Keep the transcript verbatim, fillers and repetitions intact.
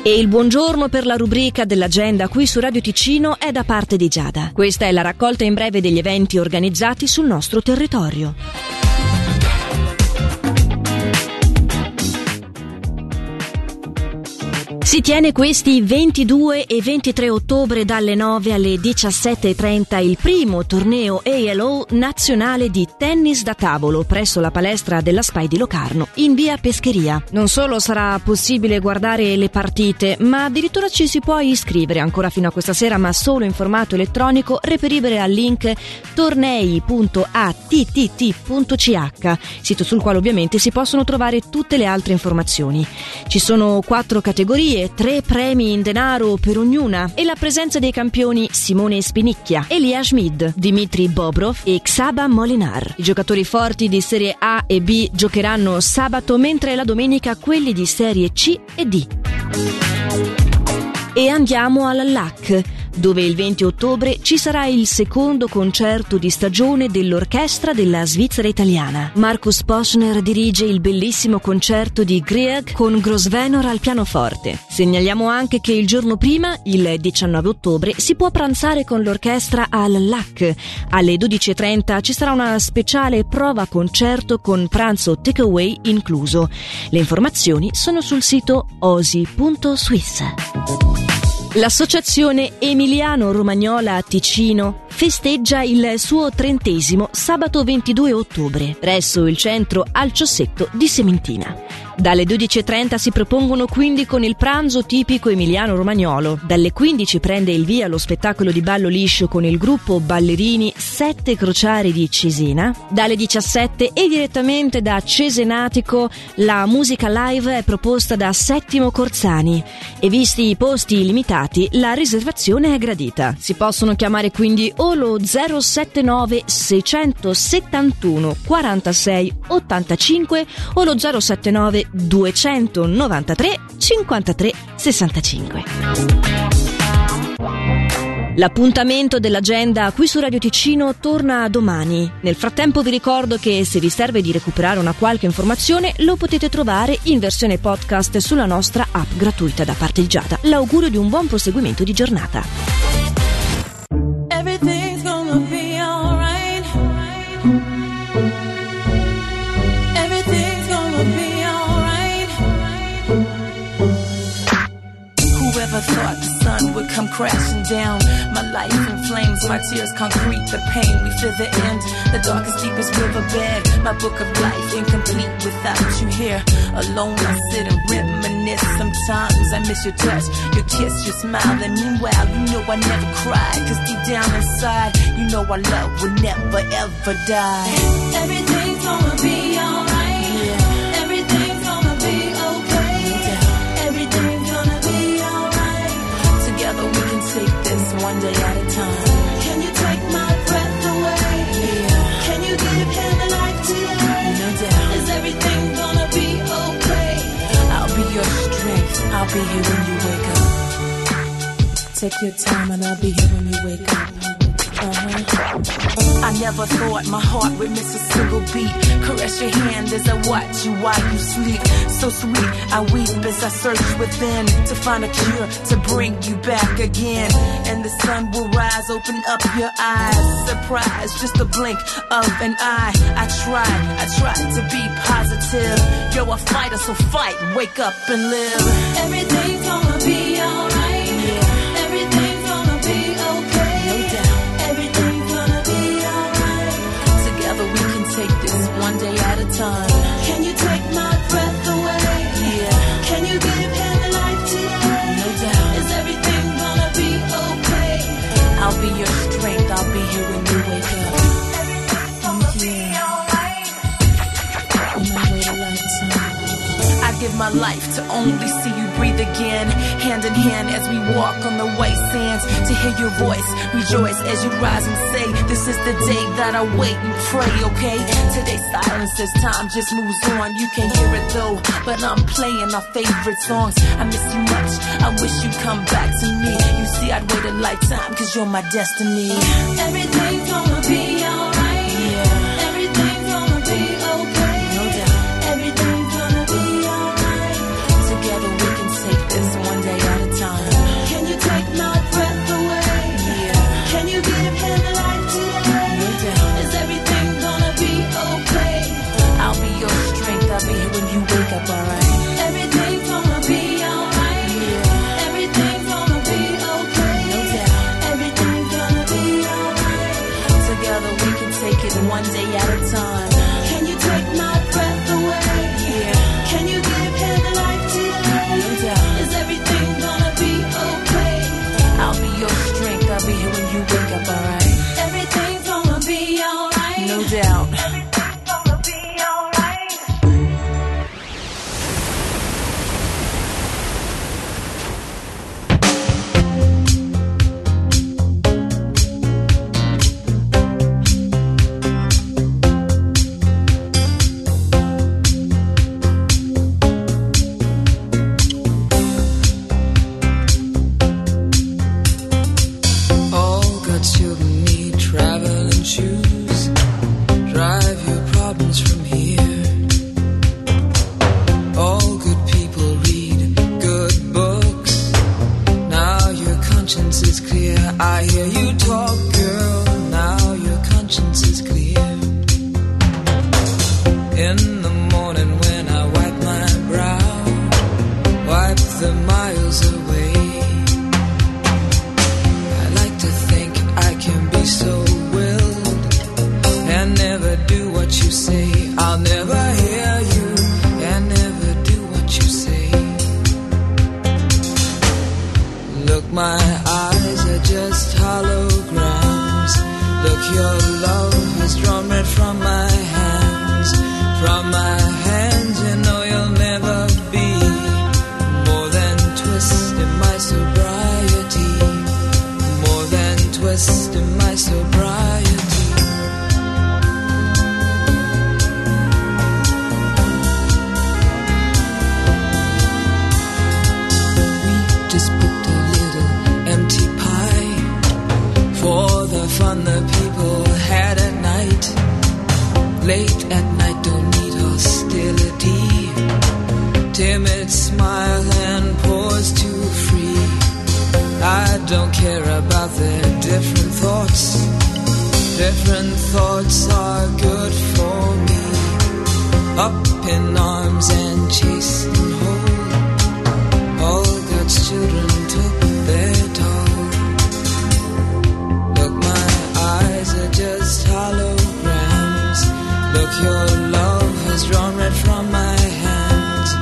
E il buongiorno per la rubrica dell'agenda qui su Radio Ticino è da parte di Giada. Questa è la raccolta in breve degli eventi organizzati sul nostro territorio. Si tiene questi ventidue e ventitré ottobre dalle nove alle diciassette e trenta il primo torneo A L O nazionale di tennis da tavolo presso la palestra della SPAI di Locarno in via Pescheria. Non solo sarà possibile guardare le partite, ma addirittura ci si può iscrivere ancora fino a questa sera, ma solo in formato elettronico, reperibile al link tornei punto a t t t punto c h, sito sul quale ovviamente si possono trovare tutte le altre informazioni. Ci sono quattro categorie, tre premi in denaro per ognuna e la presenza dei campioni Simone Spinicchia, Elia Schmid, Dmitry Bobrov e Xaba Molinar. I giocatori forti di Serie A e B giocheranno sabato, mentre la domenica quelli di Serie C e D. E andiamo alla L A C, dove il venti ottobre ci sarà il secondo concerto di stagione dell'orchestra della Svizzera italiana. Markus Poschner dirige il bellissimo concerto di Grieg con Grosvenor al pianoforte. Segnaliamo anche che il giorno prima, il diciannove ottobre, si può pranzare con l'orchestra al L A C. Alle dodici e trenta ci sarà una speciale prova concerto con pranzo takeaway incluso. Le informazioni sono sul sito osi punto swiss. L'associazione Emiliano Romagnola Ticino festeggia il suo trentesimo sabato ventidue ottobre presso il centro Alciosetto di Sementina. Dalle dodici e trenta si propongono quindi con il pranzo tipico emiliano romagnolo. Dalle quindici prende il via lo spettacolo di ballo liscio con il gruppo ballerini Sette Crociari di Cesena. Dalle diciassette e direttamente da Cesenatico la musica live è proposta da Settimo Corzani e visti i posti limitati la riservazione è gradita. Si possono chiamare quindi o lo zero sette nove sei settantuno quarantasei ottantacinque o lo zero sette nove duecentonovantatré cinquantatré sessantacinque. L'appuntamento dell'agenda qui su Radio Ticino torna domani. Nel frattempo vi ricordo che se vi serve di recuperare una qualche informazione lo potete trovare in versione podcast sulla nostra app gratuita da parte di Giada. L'augurio di un buon proseguimento di giornata. Everything's gonna be alright. Everything's gonna be alright. Whoever thought the sun would come crashing down? My life in flames, my tears concrete, the pain, we feel the end. The darkest, deepest riverbed, my book of life incomplete without you here. Alone I sit and reminisce. Sometimes I miss your touch, your kiss, your smile. And meanwhile, you know I never cry, cause deep down inside, you know our love will never ever die. Everything's gonna be alright. Yeah. Everything's gonna be okay. Yeah. Everything's gonna be alright. Together we can take this one day at a time. Can you take my breath away? Yeah. Can you give him a life today? No doubt. Is everything gonna be okay? I'll be your strength. I'll be here when you wake up. Take your time and I'll be here when you wake up. Uh-huh. I never thought my heart would miss a single beat. Caress your hand as I watch you while you sleep. So sweet, I weep as I search within to find a cure to bring you back again. And the sun will rise, open up your eyes. Surprise, just a blink of an eye. I tried, I tried to be positive. You're a fighter, so fight, wake up and live. Everything's gonna be alright. Yeah. Everything's gonna be okay. No doubt. Everything's gonna be alright. Together we can take this one day at a time. Can you take my breath away? Yeah. Can you give him a life today? No doubt. Is everything gonna be okay? I'll be your strength. I'll be here when you wake up. Everything's gonna yeah. be alright. On my way to lifetime. I give my life to only see you breathe again. Hand in hand as we walk on the white sands. To hear your voice, rejoice as you rise and say, this is the day that I wait and pray, okay? Today's silence as time just moves on. You can't hear it though, but I'm playing our favorite songs. I miss you much, I wish you'd come back to me. You see, I'd wait a lifetime, cause you're my destiny. Everything's gonna be alright. Yeah. Everything's gonna be okay. No doubt. Everything's gonna be alright. Together we can take this one day Late at night, don't need hostility. Timid smile and pause to free. I don't care about their different thoughts. Different thoughts are good for me. Up in arms and